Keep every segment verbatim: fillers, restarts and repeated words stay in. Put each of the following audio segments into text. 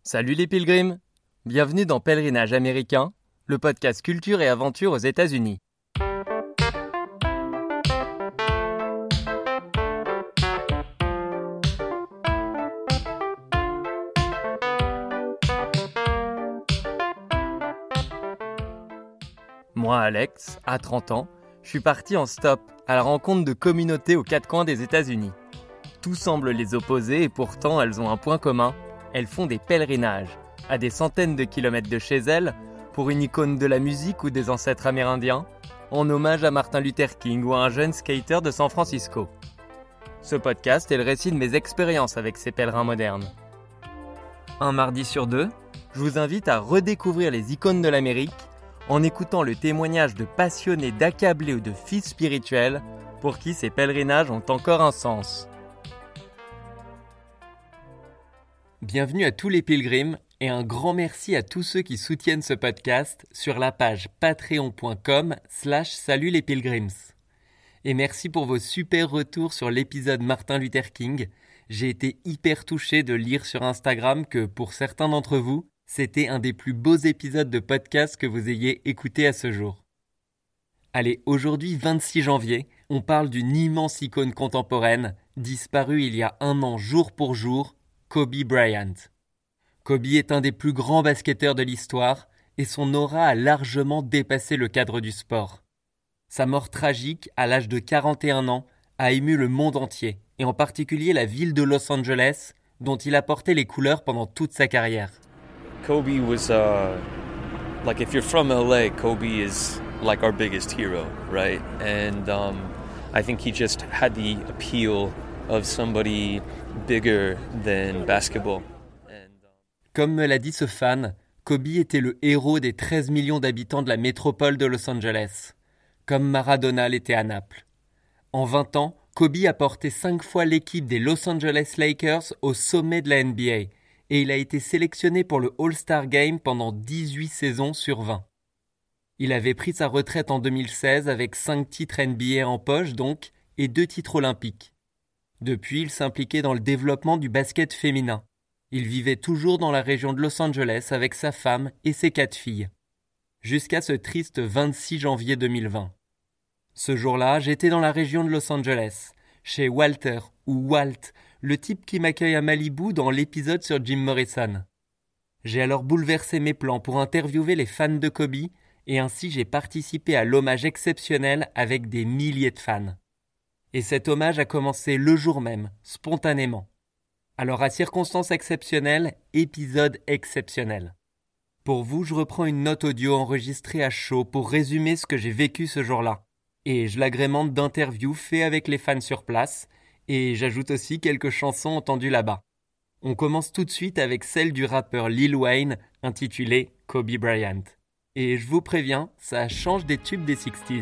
Salut les pilgrims! Bienvenue dans Pèlerinage américain, le podcast culture et aventure aux États-Unis. Moi, Alex, à trente ans, je suis parti en stop à la rencontre de communautés aux quatre coins des États-Unis. Tout semble les opposer et pourtant elles ont un point commun. Elles font des pèlerinages, à des centaines de kilomètres de chez elles, pour une icône de la musique ou des ancêtres amérindiens, en hommage à Martin Luther King ou à un jeune skater de San Francisco. Ce podcast est le récit de mes expériences avec ces pèlerins modernes. Un mardi sur deux, je vous invite à redécouvrir les icônes de l'Amérique en écoutant le témoignage de passionnés, d'accablés ou de fils spirituels pour qui ces pèlerinages ont encore un sens. Bienvenue à tous les pilgrims et un grand merci à tous ceux qui soutiennent ce podcast sur la page patreon.com slash salut les pilgrims. Et merci pour vos super retours sur l'épisode Martin Luther King. J'ai été hyper touché de lire sur Instagram que pour certains d'entre vous, c'était un des plus beaux épisodes de podcast que vous ayez écouté à ce jour. Allez, aujourd'hui vingt-six janvier, on parle d'une immense icône contemporaine, disparue il y a un an jour pour jour, Kobe Bryant. Kobe est un des plus grands basketteurs de l'histoire et son aura a largement dépassé le cadre du sport. Sa mort tragique, à l'âge de quarante et un ans, a ému le monde entier, et en particulier la ville de Los Angeles, dont il a porté les couleurs pendant toute sa carrière. Kobe was, uh, like if you're from L A, Kobe is like our biggest hero, right? And um, I think he just had the appeal of somebody bigger than basketball. And, um... Comme me l'a dit ce fan, Kobe était le héros des treize millions d'habitants de la métropole de Los Angeles, comme Maradona l'était à Naples. En vingt ans, Kobe a porté cinq fois l'équipe des Los Angeles Lakers au sommet de la N B A, et il a été sélectionné pour le All-Star Game pendant dix-huit saisons sur vingt. Il avait pris sa retraite en deux mille seize avec cinq titres N B A en poche donc, et deux titres olympiques. Depuis, il s'impliquait dans le développement du basket féminin. Il vivait toujours dans la région de Los Angeles avec sa femme et ses quatre filles. Jusqu'à ce triste vingt-six janvier deux mille vingt. Ce jour-là, j'étais dans la région de Los Angeles, chez Walter, ou Walt, le type qui m'accueille à Malibu dans l'épisode sur Jim Morrison. J'ai alors bouleversé mes plans pour interviewer les fans de Kobe, et ainsi j'ai participé à l'hommage exceptionnel avec des milliers de fans. Et cet hommage a commencé le jour même, spontanément. Alors à circonstances exceptionnelles, épisode exceptionnel. Pour vous, je reprends une note audio enregistrée à chaud pour résumer ce que j'ai vécu ce jour-là. Et je l'agrémente d'interviews faits avec les fans sur place, et j'ajoute aussi quelques chansons entendues là-bas. On commence tout de suite avec celle du rappeur Lil Wayne, intitulée Kobe Bryant. Et je vous préviens, ça change des tubes des sixties.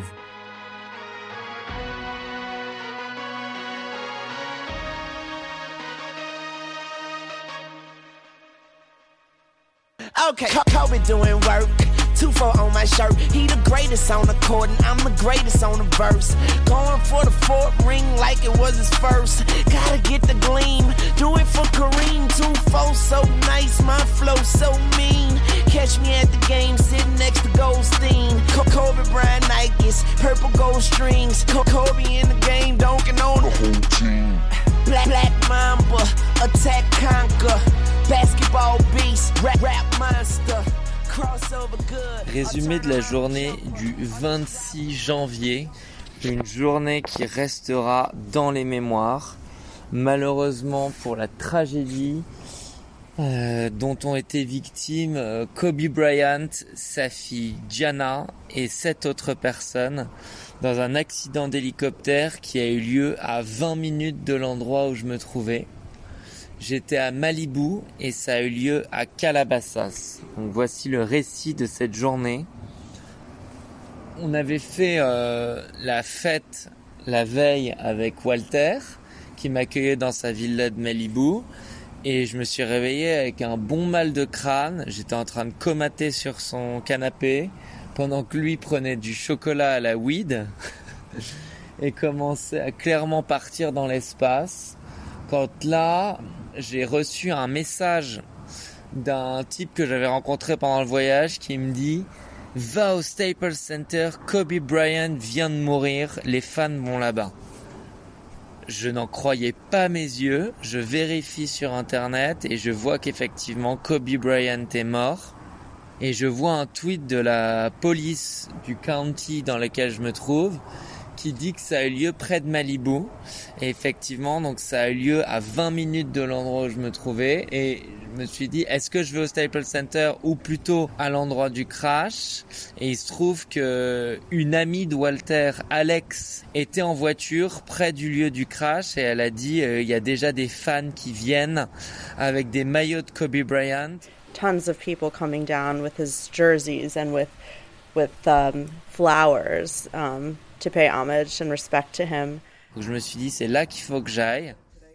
Okay, Kobe doing work, two four on my shirt. He the greatest on the court and I'm the greatest on the verse. Going for the fourth ring like it was his first. Gotta get the gleam, do it for Kareem. two four so nice, my flow so mean. Catch me at the game sitting next to Goldstein. Kobe Bryant Nikes, purple gold strings. Kobe in the game, dunking on the whole team. Black, black Mamba, attack conquer. Basketball beast, rap, rap monster, crossover good. Résumé de la journée du vingt-six janvier, une journée qui restera dans les mémoires, malheureusement pour la tragédie euh, dont ont été victimes euh, Kobe Bryant, sa fille Gianna et sept autres personnes dans un accident d'hélicoptère qui a eu lieu à vingt minutes de l'endroit où je me trouvais. J'étais à Malibu et ça a eu lieu à Calabasas. Donc voici le récit de cette journée. On avait fait euh, la fête la veille avec Walter, qui m'accueillait dans sa villa de Malibu. Et je me suis réveillé avec un bon mal de crâne. J'étais en train de comater sur son canapé pendant que lui prenait du chocolat à la weed et commençait à clairement partir dans l'espace. Quand là, j'ai reçu un message d'un type que j'avais rencontré pendant le voyage qui me dit « Va au Staples Center, Kobe Bryant vient de mourir, les fans vont là-bas ». Je n'en croyais pas mes yeux, je vérifie sur internet et je vois qu'effectivement Kobe Bryant est mort. Et je vois un tweet de la police du county dans lequel je me trouve qui dit que ça a eu lieu près de Malibu. Et effectivement, donc ça a eu lieu à vingt minutes de l'endroit où je me trouvais. Et je me suis dit, est-ce que je vais au Staples Center ou plutôt à l'endroit du crash? Et il se trouve que une amie de Walter, Alex, était en voiture près du lieu du crash et elle a dit, euh, il y a déjà des fans qui viennent avec des maillots de Kobe Bryant. Tons of people coming down with his jerseys and with with um, flowers um, to pay homage and respect to him. Donc je me suis dit, c'est là qu'il faut que j'aille.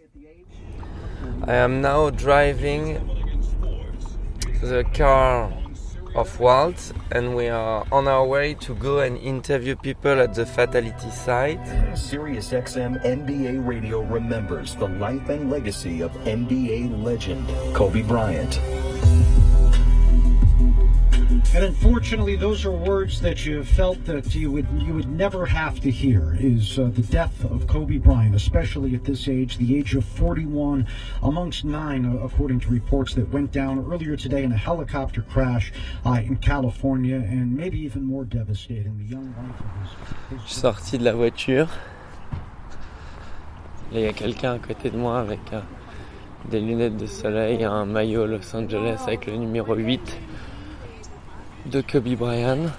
I am now driving the car of Walt and we are on our way to go and interview people at the fatality site. Sirius X M N B A Radio remembers the life and legacy of N B A legend Kobe Bryant. And unfortunately, those are words that you felt that you would you would never have to hear, is uh, the death of Kobe Bryant, especially at this age, the age of forty-one, amongst nine, uh, according to reports that went down earlier today in a helicopter crash uh, in California, and maybe even more devastating, the young life of his... Je suis sorti de la voiture. Là, il y a quelqu'un à côté de moi avec euh, des lunettes de soleil, un maillot Los Angeles avec le numéro huit. De Kobe Bryant.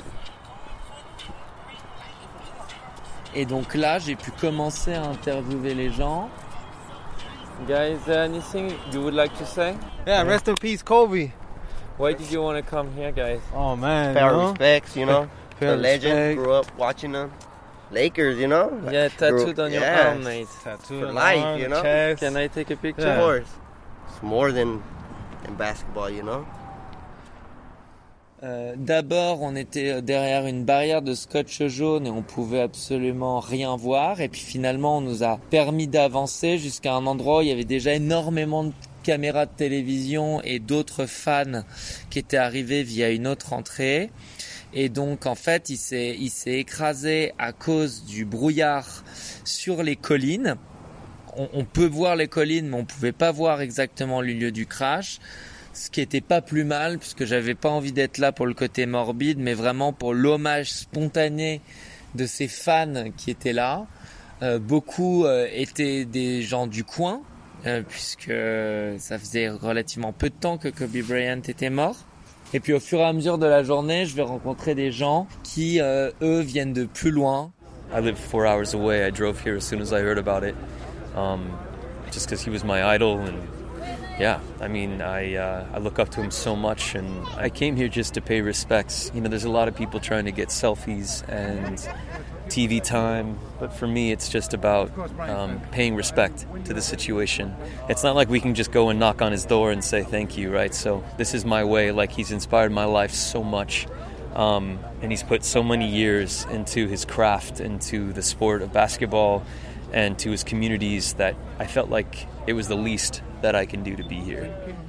Et donc là, j'ai pu commencer à interviewer les gens. Guys, anything you would like to say? Yeah, rest in peace, Kobe. Why did you want to come here, guys? Oh man, pay our you know? respects, you know. Pay the legend, respect. grew up watching them. Lakers, you know. Yeah, tattooed grew, on your yes. arm, mate. Tattooed For on life, arm, you know. chest. Can I take a picture? Yeah. Of course. It's more than in basketball, you know. Euh, d'abord, on était derrière une barrière de scotch jaune et on pouvait absolument rien voir. Et puis finalement, on nous a permis d'avancer jusqu'à un endroit où il y avait déjà énormément de caméras de télévision et d'autres fans qui étaient arrivés via une autre entrée. Et donc, en fait, il s'est, il s'est écrasé à cause du brouillard sur les collines. On, on peut voir les collines, mais on pouvait pas voir exactement le lieu du crash. Ce qui était pas plus mal, puisque j'avais pas envie d'être là pour le côté morbide, mais vraiment pour l'hommage spontané de ces fans qui étaient là. Euh, beaucoup euh, étaient des gens du coin, euh, puisque ça faisait relativement peu de temps que Kobe Bryant était mort. Et puis au fur et à mesure de la journée, je vais rencontrer des gens qui, euh, eux, viennent de plus loin. I live four hours away. I drove here as soon as I heard about it, um, just because he was my idol and yeah, I mean, I uh, I look up to him so much, and I came here just to pay respects. You know, there's a lot of people trying to get selfies and T V time, but for me, it's just about um, paying respect to the situation. It's not like we can just go and knock on his door and say thank you, right? So this is my way. Like, he's inspired my life so much, um, and he's put so many years into his craft, into the sport of basketball, and to his communities that I felt like it was the least that I can do to be here.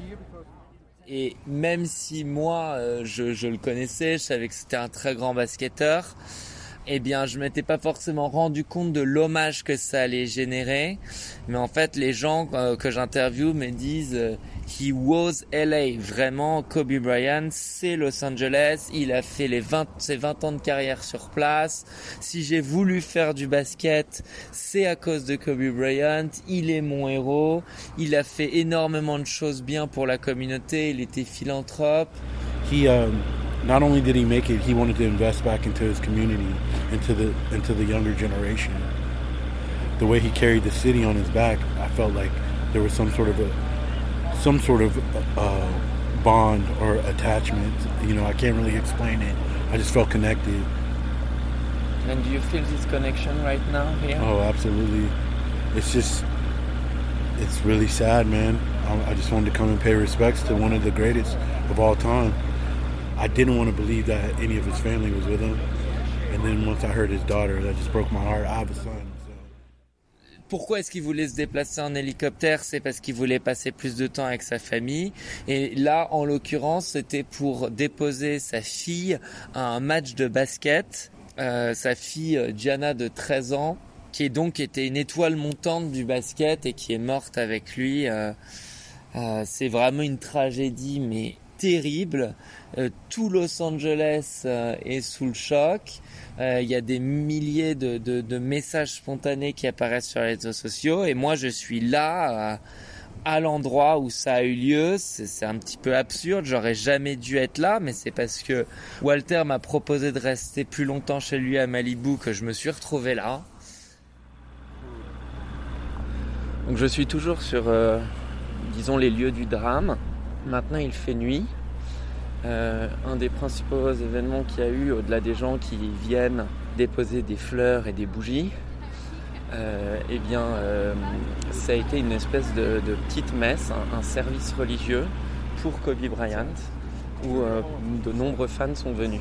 Et même si moi, euh, je, je le connaissais, je savais que c'était un très grand basketteur, eh bien, je m'étais pas forcément rendu compte de l'hommage que ça allait générer. Mais en fait, les gens euh, que j'interviewe me disent euh, He was L A. Vraiment, Kobe Bryant, c'est Los Angeles. Il a fait les vingt, ses vingt ans de carrière sur place. Si j'ai voulu faire du basket, c'est à cause de Kobe Bryant. Il est mon héros. Il a fait énormément de choses bien pour la communauté. Il était philanthrope. He, um... Not only did he make it, he wanted to invest back into his community, into the into the younger generation. The way he carried the city on his back, I felt like there was some sort of a some sort of uh, bond or attachment. You know, I can't really explain it. I just felt connected. And do you feel this connection right now here? Oh, absolutely. It's just, it's really sad, man. I, I just wanted to come and pay respects to one of the greatest of all time. I didn't want to believe that any of his family was with him. And then once I heard his daughter, that just broke my heart. I have a son. So. pourquoi est-ce qu'il voulait se déplacer en hélicoptère? C'est parce qu'il voulait passer plus de temps avec sa famille. Et là, en l'occurrence, c'était pour déposer sa fille à un match de basket. Euh, sa fille Gianna de treize ans, qui est donc était une étoile montante du basket et qui est morte avec lui. Euh, euh, c'est vraiment une tragédie, mais terrible. Euh, tout Los Angeles euh, est sous le choc. Il euh, y a des milliers de, de, de messages spontanés qui apparaissent sur les réseaux sociaux. Et moi, je suis là... Euh, à l'endroit où ça a eu lieu. C'est, c'est un petit peu absurde, j'aurais jamais dû être là, mais c'est parce que Walter m'a proposé de rester plus longtemps chez lui à Malibu que je me suis retrouvé là. Donc je suis toujours sur, euh, disons, les lieux du drame. Maintenant il fait nuit. Euh, un des principaux événements qu'il y a eu, au-delà des gens qui viennent déposer des fleurs et des bougies, Euh, eh bien, euh, ça a été une espèce de, de petite messe, un, un service religieux pour Kobe Bryant, où euh, de nombreux fans sont venus.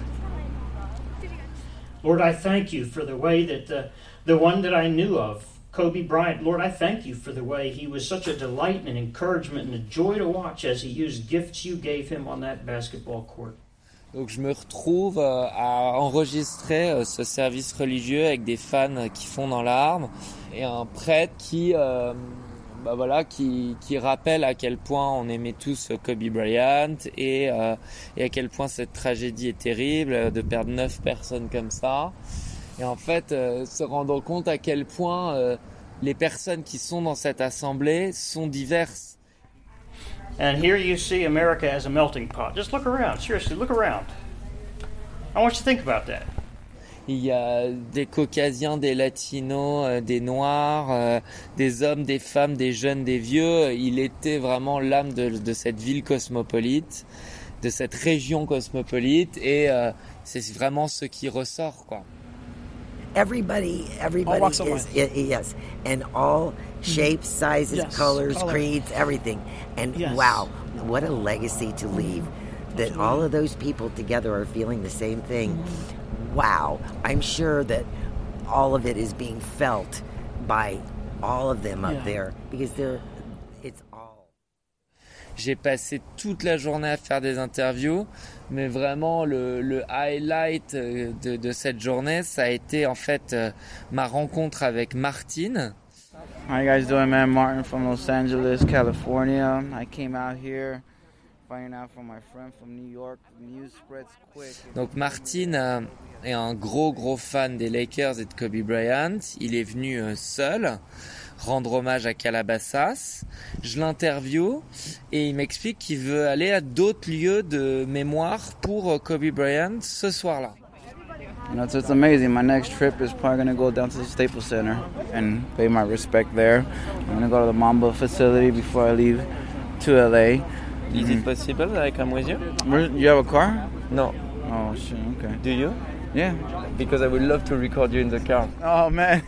Lord, I thank you for the way that the, the one that I knew of, Kobe Bryant, Lord, I thank you for the way he was such a delight and an encouragement and a joy to watch as he used gifts you gave him on that basketball court. Donc je me retrouve euh, à enregistrer euh, ce service religieux avec des fans qui font dans l'arme et un prêtre qui, euh, bah voilà, qui, qui rappelle à quel point on aimait tous Kobe Bryant et, euh, et à quel point cette tragédie est terrible de perdre neuf personnes comme ça. Et en fait, euh, se rendant compte à quel point euh, les personnes qui sont dans cette assemblée sont diverses. And here you see America as a melting pot. Just look around. Seriously, look around. I want you to think about that. Il y a des Caucasiens, des Latinos, euh, des Noirs, euh, des hommes, des femmes, des jeunes, des vieux. Il était vraiment l'âme de, de cette ville cosmopolite, de cette région cosmopolite, et euh, c'est vraiment ce qui ressort, quoi. Everybody, everybody all walks of is, life. yes, and all shapes, sizes, Yes, colors, color. creeds, everything. And Yes. wow, what a legacy to leave. That all of those people together are feeling the same thing. Wow, I'm sure that all of it is being felt by all of them up Yeah. there because they're, it's all. J'ai passé toute la journée à faire des interviews, mais vraiment le, le highlight de, de cette journée, ça a été en fait euh, ma rencontre avec Martin. How you guys doing, man? Martin from Los Angeles, California. I came out here finding out from my friend from New York. The news spreads quick. Donc Martin euh, est un gros gros fan des Lakers et de Kobe Bryant. Il est venu euh, seul rendre hommage à Calabasas. Je l'interview et il m'explique qu'il veut aller à d'autres lieux de mémoire pour Kobe Bryant ce soir-là. You know, it's, it's amazing. My next trip is probably going to go down to the Staples Center and pay my respect there. I'm going to go to the Mamba facility before I leave to L A. Is mm-hmm. it possible that I come with you? Where, you have a car? No. Oh, shit, okay. Do you? Yeah. Because I would love to record you in the car. Oh, man.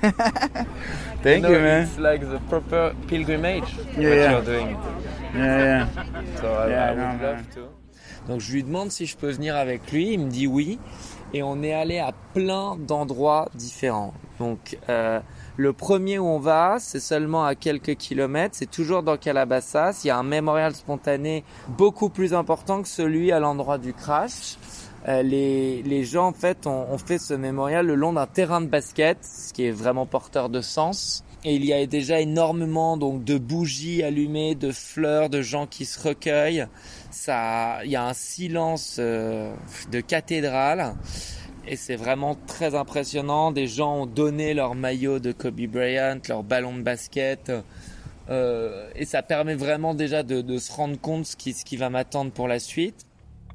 Thank you, know, you, man. It's like the proper pilgrimage yeah, what yeah. you're doing. Yeah, yeah. So I, yeah, I would no, love man. to. Donc je lui demande si je peux venir avec lui, il me dit oui. Et on est allé à plein d'endroits différents. Donc euh, le premier où on va, c'est seulement à quelques kilomètres, c'est toujours dans Calabasas. Il y a un mémorial spontané beaucoup plus important que celui à l'endroit du crash. Euh, les, les gens en fait ont, ont fait ce mémorial le long d'un terrain de basket, ce qui est vraiment porteur de sens. Et il y a déjà énormément donc de bougies allumées, de fleurs, de gens qui se recueillent. Ça, il y a un silence euh, de cathédrale et c'est vraiment très impressionnant. Des gens ont donné leur maillot de Kobe Bryant, leur ballon de basket, euh, et ça permet vraiment déjà de, de se rendre compte ce qui, ce qui va m'attendre pour la suite.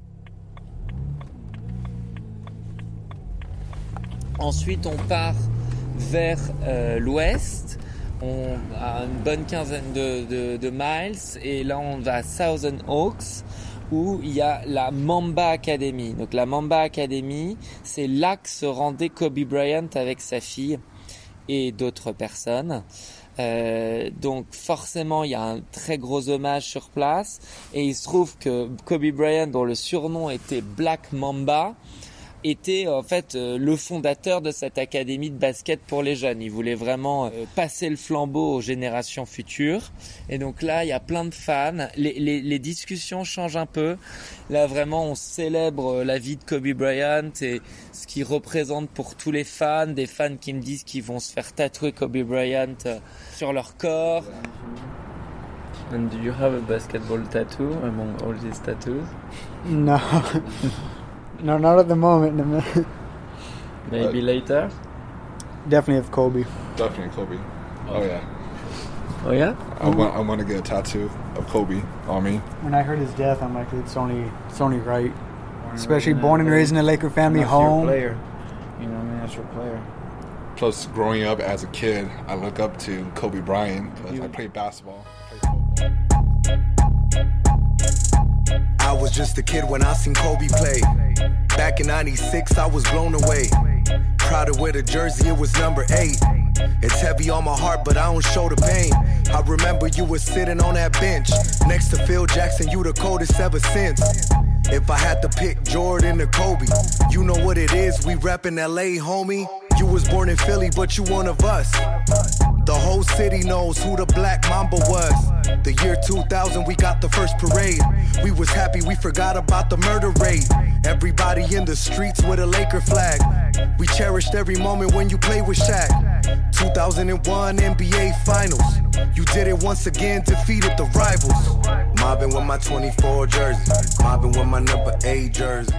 Ensuite, on part vers euh, l'ouest. On a une bonne quinzaine de, de, de miles et là on va à Thousand Oaks où il y a la Mamba Academy. Donc la Mamba Academy, c'est là que se rendait Kobe Bryant avec sa fille et d'autres personnes. Euh, donc forcément il y a un très gros hommage sur place et il se trouve que Kobe Bryant, dont le surnom était Black Mamba, était en fait euh, le fondateur de cette académie de basket pour les jeunes. Il voulait vraiment euh, passer le flambeau aux générations futures. Et donc là, il y a plein de fans. Les, les, les discussions changent un peu. Là, vraiment, on célèbre la vie de Kobe Bryant et ce qu'il représente pour tous les fans. Des fans qui me disent qu'ils vont se faire tatouer Kobe Bryant euh, sur leur corps. And do you have a basketball tattoo among all these tattoos? No. No, not at the moment. Maybe later? Definitely have Kobe. Definitely Kobe. Oh yeah. Oh yeah? I want I want to get a tattoo of Kobe on me. When I heard his death, I'm like, it's only it's only right. Especially born and raised in a Laker family home. Player. You know, I mean, that's your player. Plus, growing up as a kid, I look up to Kobe Bryant because I played basketball. I was just a kid when I seen Kobe play. Back in ninety-six, I was blown away. Proud to wear the jersey, it was number eight. It's heavy on my heart, but I don't show the pain. I remember you were sitting on that bench next to Phil Jackson, you the coldest ever since. If I had to pick Jordan or Kobe, you know what it is, we reppin' L A, homie. You was born in Philly, but you one of us. The whole city knows who the Black Mamba was. The year two thousand, we got the first parade. We was happy, we forgot about the murder rate. Everybody in the streets with a Laker flag. We cherished every moment when you played with Shaq. two thousand one N B A Finals. You did it once again, defeated the rivals. Mobbing with my twenty-four jersey. Mobbing with my number eight jersey.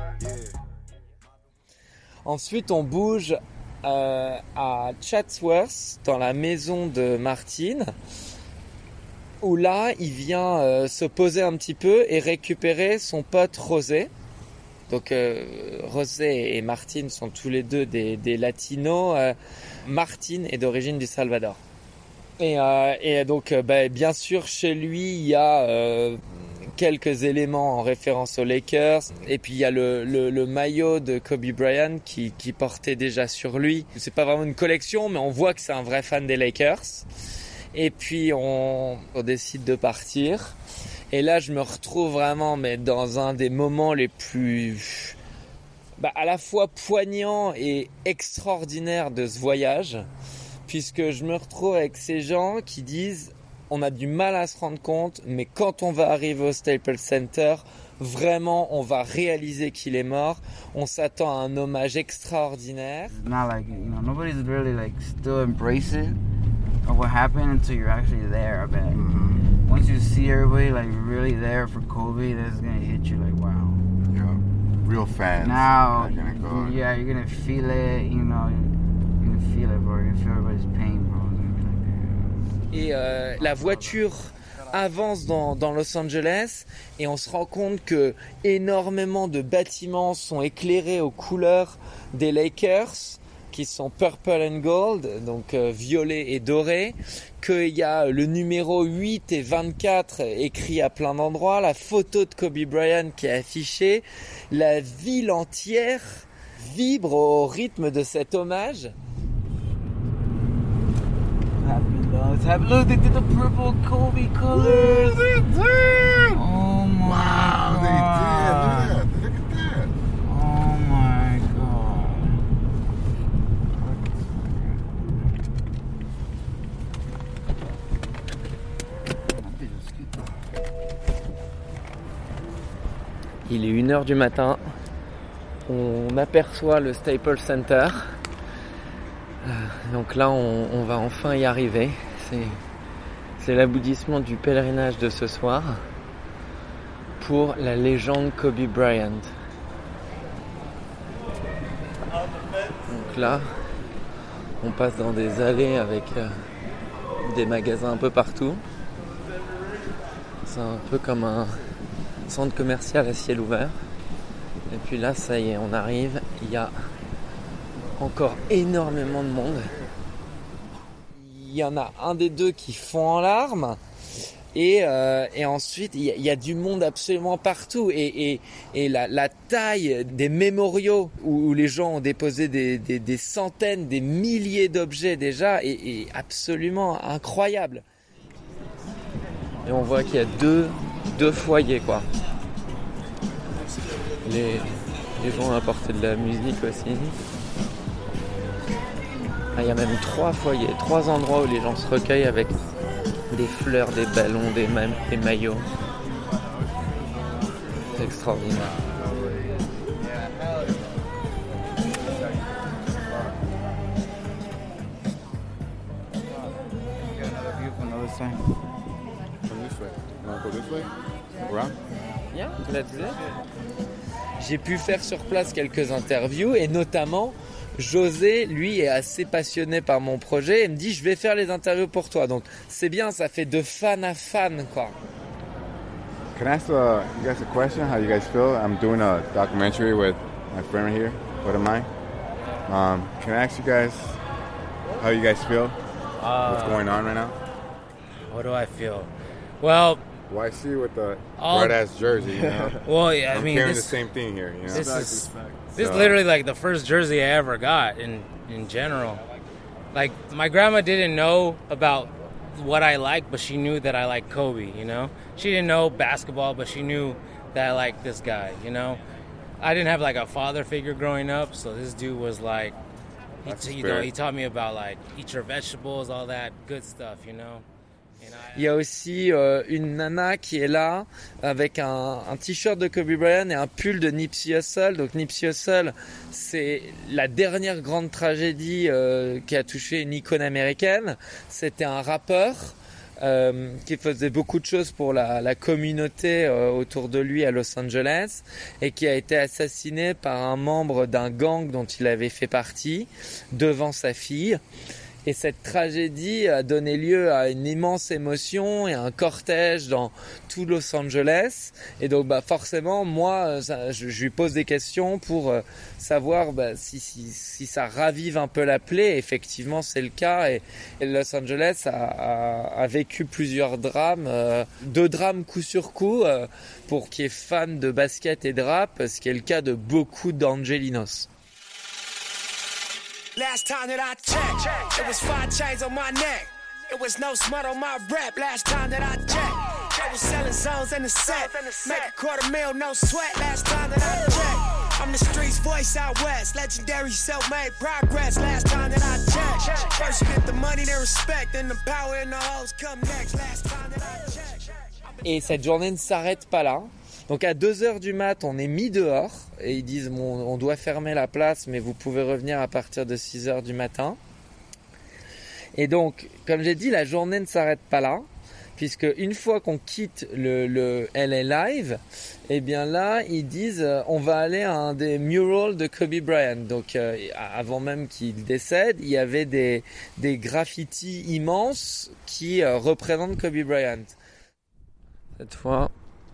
Ensuite, on bouge euh, à Chatsworth, dans la maison de Martin, où là, il vient euh, se poser un petit peu et récupérer son pote José. Donc, euh, José et Martin sont tous les deux des, des latinos. Euh, Martin est d'origine du Salvador. Et, euh, et donc, euh, bah, bien sûr, chez lui, il y a euh, quelques éléments en référence aux Lakers. Et puis, il y a le, le, le maillot de Kobe Bryant qui, qui portait déjà sur lui. C'est pas vraiment une collection, mais on voit que c'est un vrai fan des Lakers. Et puis, on, on décide de partir. Et là, je me retrouve vraiment mais dans un des moments les plus bah, à la fois poignants et extraordinaires de ce voyage. Puisque je me retrouve avec ces gens qui disent on a du mal à se rendre compte, mais quand on va arriver au Staples Center, vraiment on va réaliser qu'il est mort. On s'attend à un hommage extraordinaire. Not like, you know, nobody's really like still embrace it of what happened until you're actually there, I bet. Mm-hmm. Once you see everybody like really there for Kobe, that's gonna hit you like wow. Yeah, real fans. Now, gonna go yeah, you're gonna feel it, you know. Feel it, bro. You feel everybody's pain, bro. Et euh, la voiture avance dans, dans Los Angeles et on se rend compte que énormément de bâtiments sont éclairés aux couleurs des Lakers, qui sont purple and gold, donc euh, violet et doré, qu'il y a le numéro huit et vingt-quatre écrit à plein d'endroits, la photo de Kobe Bryant qui est affichée, la ville entière vibre au rythme de cet hommage. It's happening. Look, they did the purple Kobe colors. Ooh, they did. Oh my wow, god. They did. Look at that. Oh my god. Il est une heure du matin. On aperçoit le Staples Center. Donc là, on, on va enfin y arriver. C'est, c'est l'aboutissement du pèlerinage de ce soir pour la légende Kobe Bryant. Donc là, on passe dans des allées avec euh, des magasins un peu partout. C'est un peu comme un centre commercial à ciel ouvert. Et puis là, ça y est, on arrive. Il y a encore énormément de monde. Il y en a un des deux qui fond en larmes et, euh, et ensuite il y, a, il y a du monde absolument partout et, et, et la, la taille des mémoriaux où, où les gens ont déposé des, des, des centaines, des milliers d'objets déjà est, est absolument incroyable. Et on voit qu'il y a deux, deux foyers quoi. Les, les gens ont apporté de la musique aussi. Ah, il y a même trois fois, il y a trois endroits où les gens se recueillent avec des fleurs, des ballons, des, ma- des maillots. C'est extraordinaire. Yeah, let's do it. J'ai pu faire sur place quelques interviews et notamment José, lui, est assez passionné par mon projet et me dit je vais faire les interviews pour toi. Donc c'est bien, ça fait de fan à fan quoi. Can I ask uh, you guys a question? How you guys feel? I'm doing a documentary with my friend right here, what am I? Um, can I ask you guys how you guys feel? Uh, What's going on right now? What do I feel? Well, well, I see you with the all, red ass jersey. You know? Well, yeah, I I'm mean, carrying this, the same thing here. You know? This is this so. is literally like the first jersey I ever got in in general. Like my grandma didn't know about what I like, but she knew that I like Kobe. You know, she didn't know basketball, but she knew that I liked this guy. You know, I didn't have like a father figure growing up, so this dude was like, he, you know, he taught me about like eat your vegetables, all that good stuff. You know. Il y a aussi euh, une nana qui est là avec un, un t-shirt de Kobe Bryant et un pull de Nipsey Hussle. Donc Nipsey Hussle, c'est la dernière grande tragédie euh, qui a touché une icône américaine. C'était un rappeur euh, qui faisait beaucoup de choses pour la, la communauté euh, autour de lui à Los Angeles et qui a été assassiné par un membre d'un gang dont il avait fait partie devant sa fille. Et cette tragédie a donné lieu à une immense émotion et à un cortège dans tout Los Angeles. Et donc, bah, forcément, moi, ça, je, je lui pose des questions pour euh, savoir bah, si, si, si ça ravive un peu la plaie. Effectivement, c'est le cas. Et, et Los Angeles a, a, a vécu plusieurs drames, euh, deux drames coup sur coup, euh, pour qui est fan de basket et de rap, ce qui est le cas de beaucoup d'Angelinos. Last time that I checked, it was five chains on my neck. It was no smut on my rep. Last time that I checked, I was selling zones in the set. Make a quarter mil, no sweat. Last time that I checked, I'm the streets voice out west. Legendary self-made progress. Last time that I checked, first you get the money, then respect, then the power and the hoes come next. Last time that I checked. Et cette journée ne s'arrête pas là. Donc à deux heures du mat, on est mis dehors et ils disent bon, on doit fermer la place, mais vous pouvez revenir à partir de six heures du matin. Et donc, comme j'ai dit, la journée ne s'arrête pas là, puisque une fois qu'on quitte le, le L A Live, eh bien là, ils disent euh, on va aller à un des murals de Kobe Bryant. Donc euh, avant même qu'il décède, il y avait des, des graffitis immenses qui euh, représentent Kobe Bryant. Cette fois,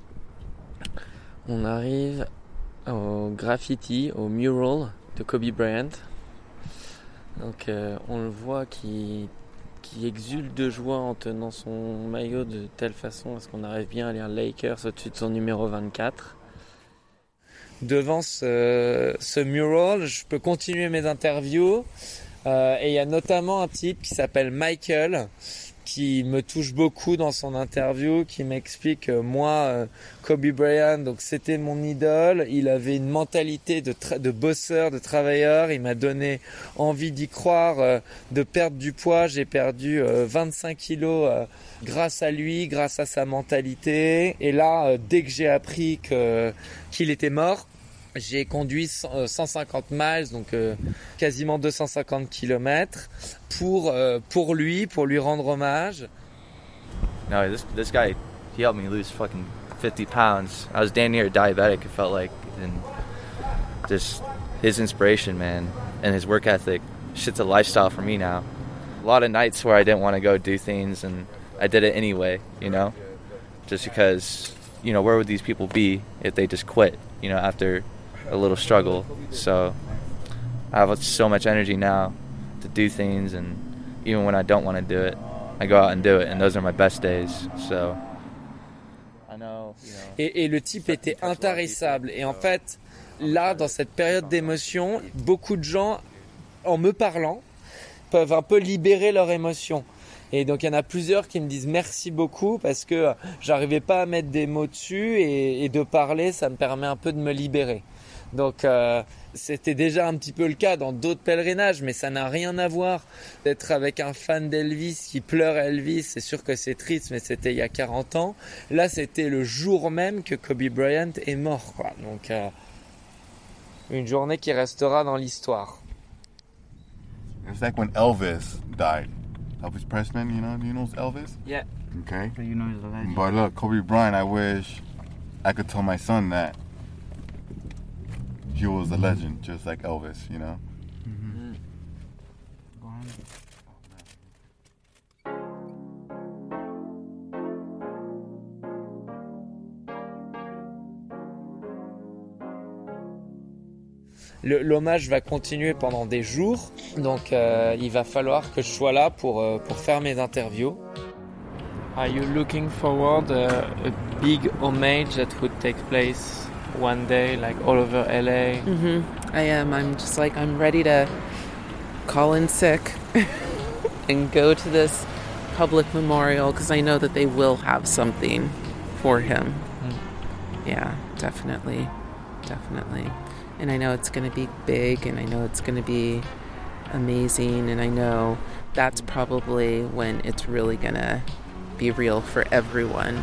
on arrive au graffiti, au mural de Kobe Bryant. Donc euh, on le voit qui, qui exulte de joie en tenant son maillot de telle façon à ce qu'on arrive bien à lire Lakers au-dessus de son numéro vingt-quatre. Devant ce, ce mural, je peux continuer mes interviews. Euh, et il y a notamment un type qui s'appelle Michael, qui me touche beaucoup dans son interview, qui m'explique que moi, euh, Kobe Bryant, donc c'était mon idole. Il avait une mentalité de, tra- de bosseur, de travailleur. Il m'a donné envie d'y croire, euh, de perdre du poids. J'ai perdu euh, vingt-cinq kilos euh, grâce à lui, grâce à sa mentalité. Et là, euh, dès que j'ai appris que, qu'il était mort, j'ai conduit cent cinquante miles, donc euh, quasiment deux cent cinquante kilomètres, pour euh, pour lui, pour lui rendre hommage. No, this this guy, he helped me lose fucking fifty pounds. I was damn near diabetic, it felt like, and just his inspiration, man, and his work ethic, shit's a lifestyle for me now. A lot of nights where I didn't want to go do things, and I did it anyway, you know, just because, you know, where would these people be if they just quit, you know, after a little struggle? So I have so much energy now to do things, and even when I don't want to do it, I go out and do it, and those are my best days. So I know, you know. Et, et le type était intarissable. Et en fait, là, dans cette période d'émotion, beaucoup de gens, en me parlant, peuvent un peu libérer leurs émotions. Et donc il y en a plusieurs qui me disent merci beaucoup parce que j'arrivais pas à mettre des mots dessus et, et de parler, ça me permet un peu de me libérer. Donc euh, c'était déjà un petit peu le cas dans d'autres pèlerinages, mais ça n'a rien à voir d'être avec un fan d'Elvis qui pleure à Elvis. C'est sûr que c'est triste, mais c'était il y a quarante ans. Là, c'était le jour même que Kobe Bryant est mort, quoi. Donc euh, une journée qui restera dans l'histoire. It's like when Elvis died. Elvis Presley, you know, do you know Elvis? Yeah. Okay. So you know he's a legend. But look, Kobe Bryant, I wish I could tell my son that he was a legend, just like Elvis, you know? Mm-hmm. Go ahead. Le, l'hommage va continuer pendant des jours, donc euh, il va falloir que je sois là pour, euh, pour faire mes interviews. Are you looking forward uh, a big homage that would take place one day, like all over L A? Mm-hmm. I am. I'm just like, I'm ready to call in sick and go to this public memorial because I know that they will have something for him. Mm. Yeah, definitely. Definitely. And I know it's going to be big and I know it's going to be amazing and I know that's probably when it's really going to be real for everyone.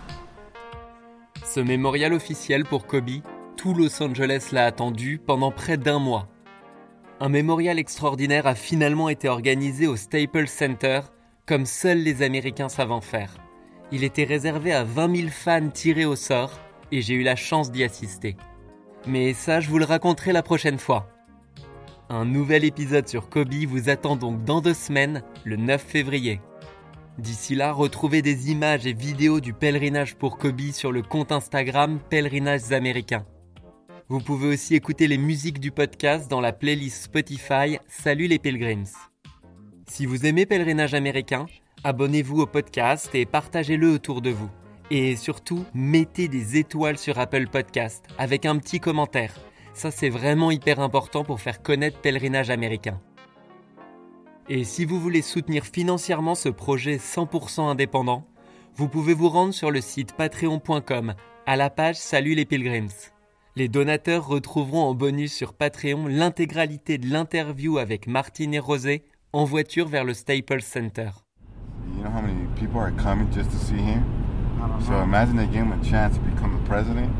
Ce mémorial officiel pour Kobe, tout Los Angeles l'a attendu pendant près d'un mois. Un mémorial extraordinaire a finalement été organisé au Staples Center, comme seuls les Américains savent en faire. Il était réservé à vingt mille fans tirés au sort et j'ai eu la chance d'y assister. Mais ça, je vous le raconterai la prochaine fois. Un nouvel épisode sur Kobe vous attend donc dans deux semaines, le neuf février. D'ici là, retrouvez des images et vidéos du pèlerinage pour Kobe sur le compte Instagram Pèlerinages Américains. Vous pouvez aussi écouter les musiques du podcast dans la playlist Spotify Salut les Pilgrims. Si vous aimez Pèlerinage Américain, abonnez-vous au podcast et partagez-le autour de vous. Et surtout, mettez des étoiles sur Apple Podcast avec un petit commentaire. Ça, c'est vraiment hyper important pour faire connaître Pèlerinage Américain. Et si vous voulez soutenir financièrement ce projet cent pour cent indépendant, vous pouvez vous rendre sur le site patreon point com à la page Salut les Pilgrims. Les donateurs retrouveront en bonus sur Patreon l'intégralité de l'interview avec Martine et Rosé en voiture vers le Staples Center. You know how many people are coming just to see him? So imagine they gave him a chance to become the president.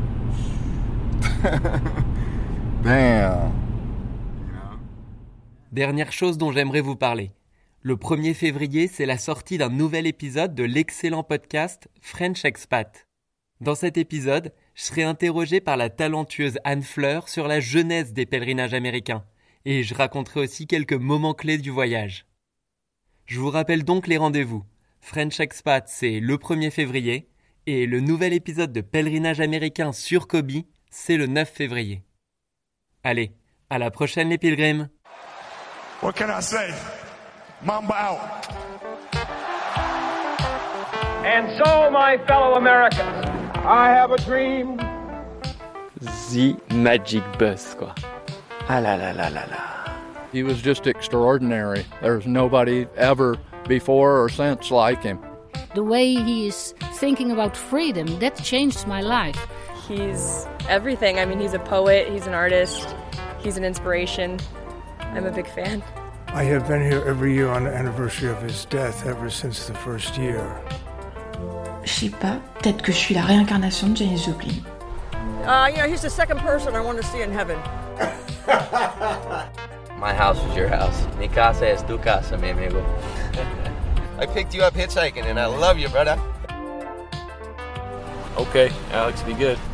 Damn. Dernière chose dont j'aimerais vous parler. Le premier février, c'est la sortie d'un nouvel épisode de l'excellent podcast French Expat. Dans cet épisode, je serai interrogé par la talentueuse Anne Fleur sur la genèse des pèlerinages américains. Et je raconterai aussi quelques moments clés du voyage. Je vous rappelle donc les rendez-vous. French Expat, c'est le premier février. Et le nouvel épisode de Pèlerinage américain sur Kobe, c'est le neuf février. Allez, à la prochaine les pilgrims. What can I say? Mamba out. And so, my fellow Americans, I have a dream. The Magic Bus, quoi. Ah là là là là là. He was just extraordinary. There's nobody ever before or since like him. The way he is thinking about freedom, that changed my life. He's everything. I mean, he's a poet, he's an artist, he's an inspiration. I'm a big fan. I have been here every year on the anniversary of his death ever since the first year. Je sais pas, peut-être que je suis la réincarnation de Janis Joplin. Uh, you know, he's the second person I want to see in heaven. My house is your house. Mi casa es tu casa, mi amigo. I picked you up hitchhiking and I love you, brother. Okay, Alex, be good.